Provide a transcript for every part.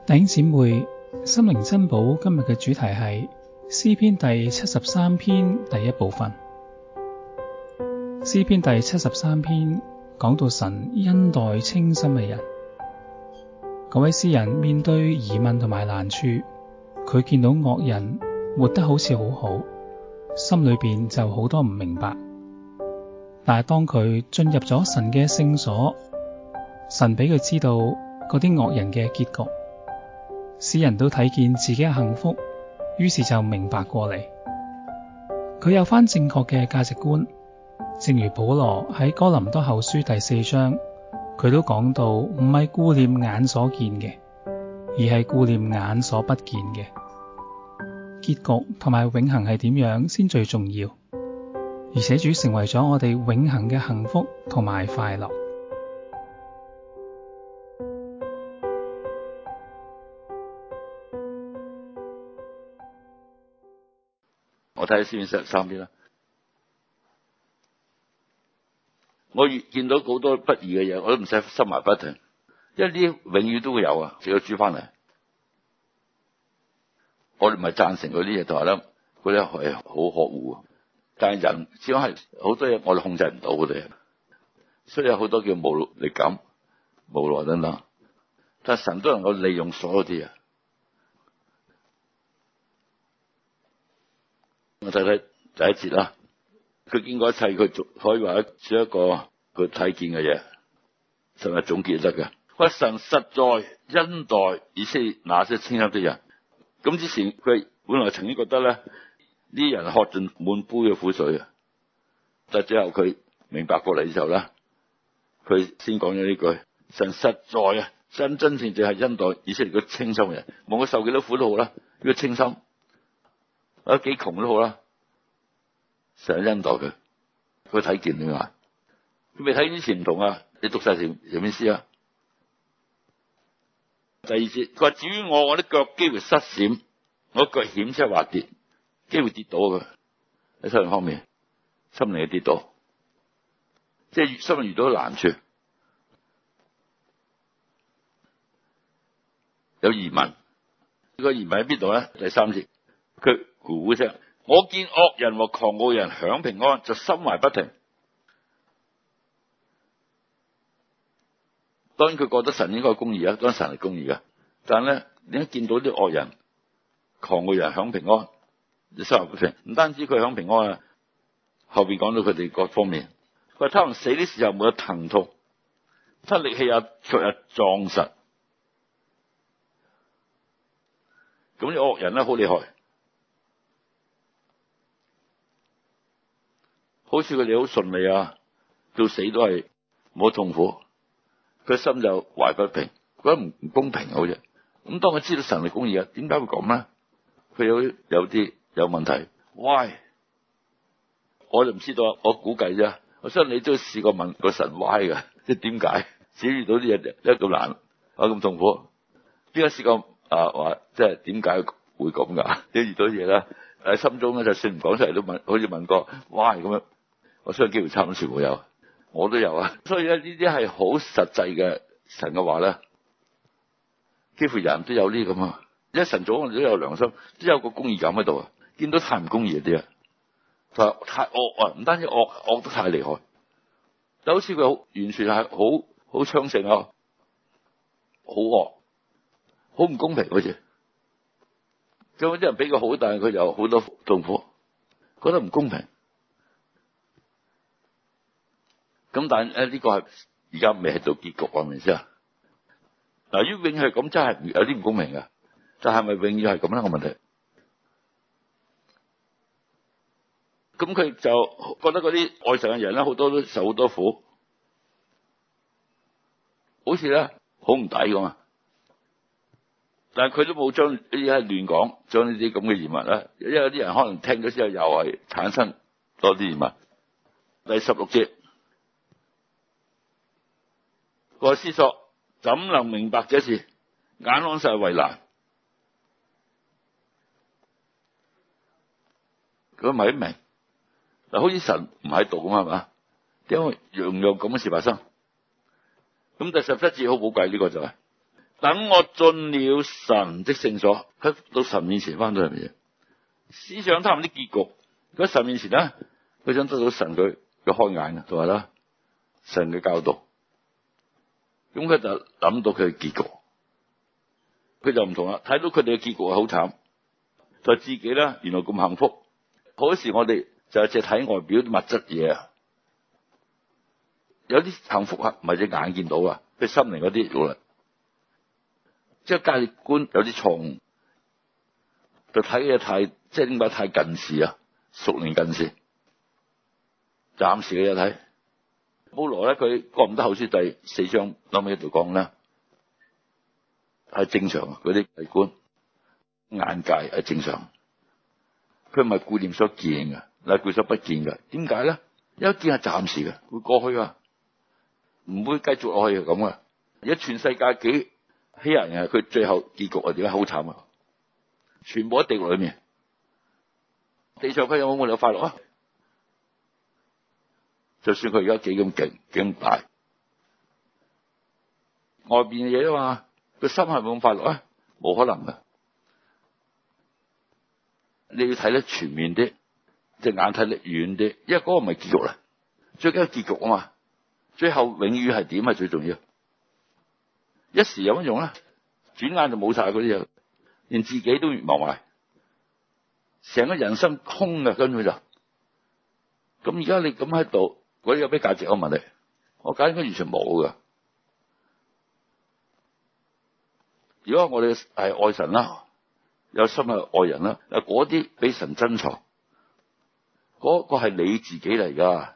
弟兄姊妹，心靈珍寶今日嘅主題係詩篇第73篇第一部分。詩篇第73篇講到神恩待清心嘅人。嗰位詩人面對疑問同埋難處，佢見到惡人活得好似好好，心裏邊就好多唔明白。但係當佢進入咗神嘅聖所，神俾佢知道嗰啲惡人嘅結局。詩人都睇見自己嘅幸福，於是就明白過嚟。佢有返正確嘅價值觀，正如保羅喺哥林多後書第4章，佢都講到唔係顧念眼所見嘅，而係顧念眼所不見嘅。結局同埋永恆係點樣先最重要，而且主成為咗我哋永恆嘅幸福同埋快樂。 我睇下詩篇43篇啦，我越見到好多不義嘅嘢，我都唔使心懷不平，因為呢啲永遠都會有啊，只要主翻嚟。我哋唔係贊成嗰啲嘢，同埋咧嗰啲係好可惡，但係人始終係好多嘢我哋控制唔到嘅嘢，所以有好多叫無力感、無奈等等。但係神都能夠利用所有啲嘢。我睇睇第一節啦，佢經過一切，佢可以話做一個佢睇見嘅嘢，神係總結得嘅。佢神實在恩待以色列那些清心的人。咁之前佢本來曾經覺得咧，呢啲人喝盡滿杯嘅苦水啊，但最後佢明白過嚟之後咧，佢先講咗呢句：神實在啊，真正係恩待以色列嘅清心嘅人，無論佢受幾多苦都好啦，呢個清心。幾窮都好啦，成日恩待佢，佢睇見點解？佢未睇之前唔同啊！你讀晒成篇詩啊。第二節，佢話至於我的腳幾乎失閃，我腳險些滑跌，幾乎跌倒佢喺心靈方面，心靈嘅跌倒，即係心靈遇到難處，有疑問。呢個疑問喺邊度咧？第3節，佢咕咕聲，我見惡人和狂傲人享平安，就心懷不平。當然佢覺得神應該係公義啊，當然神係公義嘅。但係咧，你一見到啲惡人、狂傲人享平安，就心懷不平。唔單止佢享平安啊，後邊講到佢哋各方面，佢話他們死的時候沒有疼痛，他力氣也卻也壯實。咁啲惡人咧好厲害。好似佢哋好順利啊，到死都係冇痛苦，佢心就懷不平，覺得唔公平好似。咁當佢知道神係公義啊，點解會咁咧？佢有啲有問題 ，why？ 我就唔知道，我估計啫。我相信你都試過問個神 why 嘅，即係點解？只遇到啲嘢一咁難啊咁痛苦，邊個試過話即係點解會咁噶？你遇到啲嘢咧喺心中咧，就算唔講出嚟都問，好似問過 why 咁樣。我相信機會差唔多全部有，我都有啊。所以咧呢啲係好實際嘅神嘅話咧，幾乎人都有呢咁啊。因為神早我哋都有良心，都有個公義感喺度啊。見到太唔公義嗰啲啊，太惡啊，唔單止惡得太厲害，就好似佢完全係好昌盛啊，好惡，好唔公平好似。咁有啲人比佢好，但係佢有好多痛苦，覺得唔公平。咁但係呢個係而家未係到結局啊，明唔明先啊？嗱，如果永遠係咁，真係有啲唔公平嘅。但係咪永遠係咁咧？個問題。咁佢就覺得嗰啲愛神嘅人咧，好多都受好多苦，好似咧好唔抵咁啊！但係佢都冇將呢啲係亂講，將呢啲咁嘅疑問咧，因為有啲人可能聽咗之後又係產生多啲疑問。第16節。我思索怎能明白這事？眼看實係為難。佢唔係明嗱，好似神唔喺度咁係嘛？點解樣樣咁嘅事發生？咁第17節好寶貴，呢個就係等我進了神的聖所，佢到神面前翻到嚟嘅嘢，思想他們的結局。喺神面前咧，佢想得到神佢嘅開眼啊，同埋啦神嘅教導。咁佢就諗到佢嘅結局，佢就唔同啦。睇到佢哋嘅結局係好慘，就自己咧原來咁幸福。好多時我哋就係淨係睇外表啲物質嘢啊，有啲幸福啊唔係隻眼見到啊，佢心靈嗰啲，即係價值觀有啲錯誤，就睇嘢太即係點解太近視啊，屬靈近視。暫時嘅嘢睇，保羅咧佢哥林多後書第4章後尾度講咧，係正常啊，嗰啲價值觀眼界係正常，佢唔係顧念所見嘅，嗱顧所不見嘅。點解咧？因為見係暫時嘅，會過去啊，唔會繼續落去嘅咁啊。而家全世界幾欺人嘅，佢最後結局係點解好慘啊？全部喺地獄裏面，地上佢有冇快樂啊？就算佢而家幾咁勁幾咁大，外邊嘅嘢啊嘛，佢心係冇咁快樂啊？冇可能嘅。你要睇得全面啲，隻眼睇得遠啲，因為嗰個唔係結局啦，最緊要結局啊嘛。最後永遠係點係最重要。一時有乜用啊？轉眼就冇晒嗰啲嘢，連自己都忘埋，成個人生空嘅，跟住就咁。而家你咁喺度，嗰啲有咩價值？我問你，我覺得應該完全冇噶。如果我哋係愛神啦，有心係愛人啦，嗰啲俾神珍藏，嗰個係你自己嚟噶，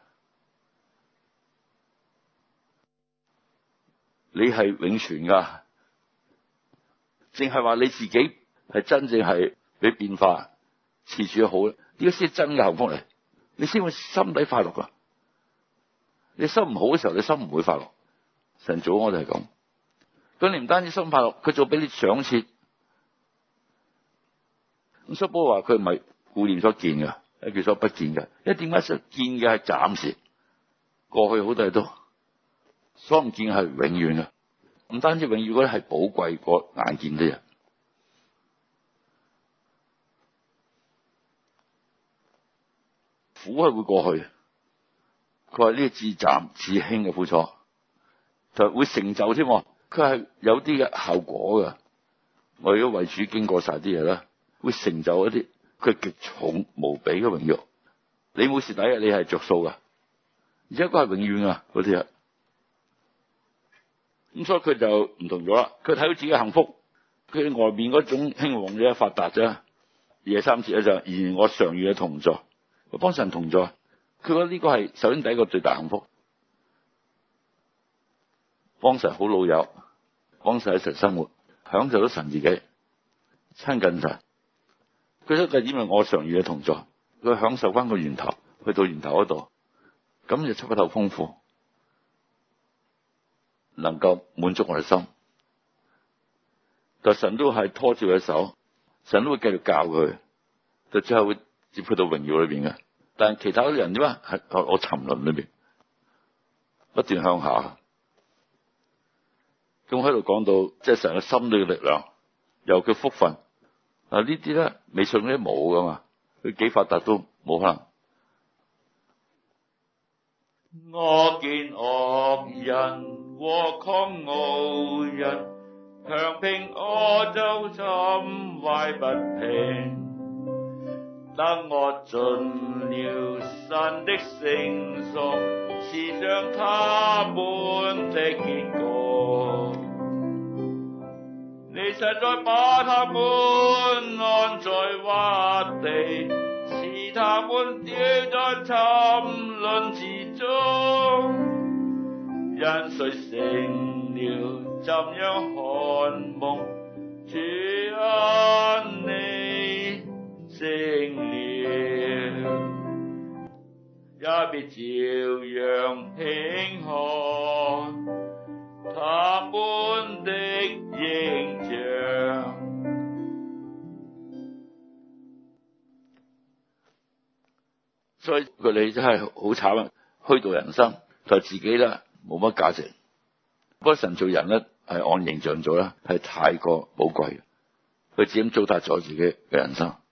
你係永存噶。淨係話你自己係真正係俾變化，持住好，呢個先係真嘅幸福嚟，你先會心底快樂噶。你心唔好嘅時候，你心唔會快樂。神早我哋係咁，咁你唔單止心快樂，佢仲俾你賞賜。咁所以保羅話佢唔係顧念所見嘅，係叫所不見嘅。因為點解所見嘅係暫時，過去好多嘢都，所唔見嘅係永遠嘅。唔單止永遠嗰啲係寶貴過眼見啲人，苦係會過去。佢話呢個至暫至輕嘅苦楚，就會成就添。佢係有啲嘅效果㗎。我如果為主經過晒啲嘢啦，會成就一啲佢極重無比嘅榮耀。你冇蝕底嘅，你係着數噶，而且嗰係永遠啊嗰啲啊。咁所以佢就唔同咗啦。佢睇到自己嘅幸福，佢外面嗰種興旺嘅發達啫。第三節咧就然我常與佢同在，佢幫神同在。佢覺得呢個係首先第一個最大幸福，幫神好老友，幫神一齊生活，享受到神自己親近神。佢都係因為我常與佢同在，佢享受翻個源頭，去到源頭嗰度，咁就出一頭豐富，能夠滿足我哋心。但神都係拖住佢手，神都會繼續教佢，就最後會接去到榮耀裏邊嘅。但係其他啲人點啊？係我沉淪裏邊不斷向下。咁喺度講到，即係神嘅心裏嘅力量，有佢福分。呢啲咧未信嗰啲冇噶嘛，佢幾發達都冇可能。我見惡人和狂傲人，強拼我就心懷不平。等我進了神的聖所，思想他們的結局。你實在把他們安在窪地，使他們掉在沉淪之中。人誰成了怎樣看夢？主啊，你成了，也必照樣輕看他們的形像。所以佢哋真係好慘啊！虛度人生，就自己咧冇乜價值。不過神做人咧係按形象做啦，係太過寶貴嘅。佢自己糟蹋咗自己嘅人生。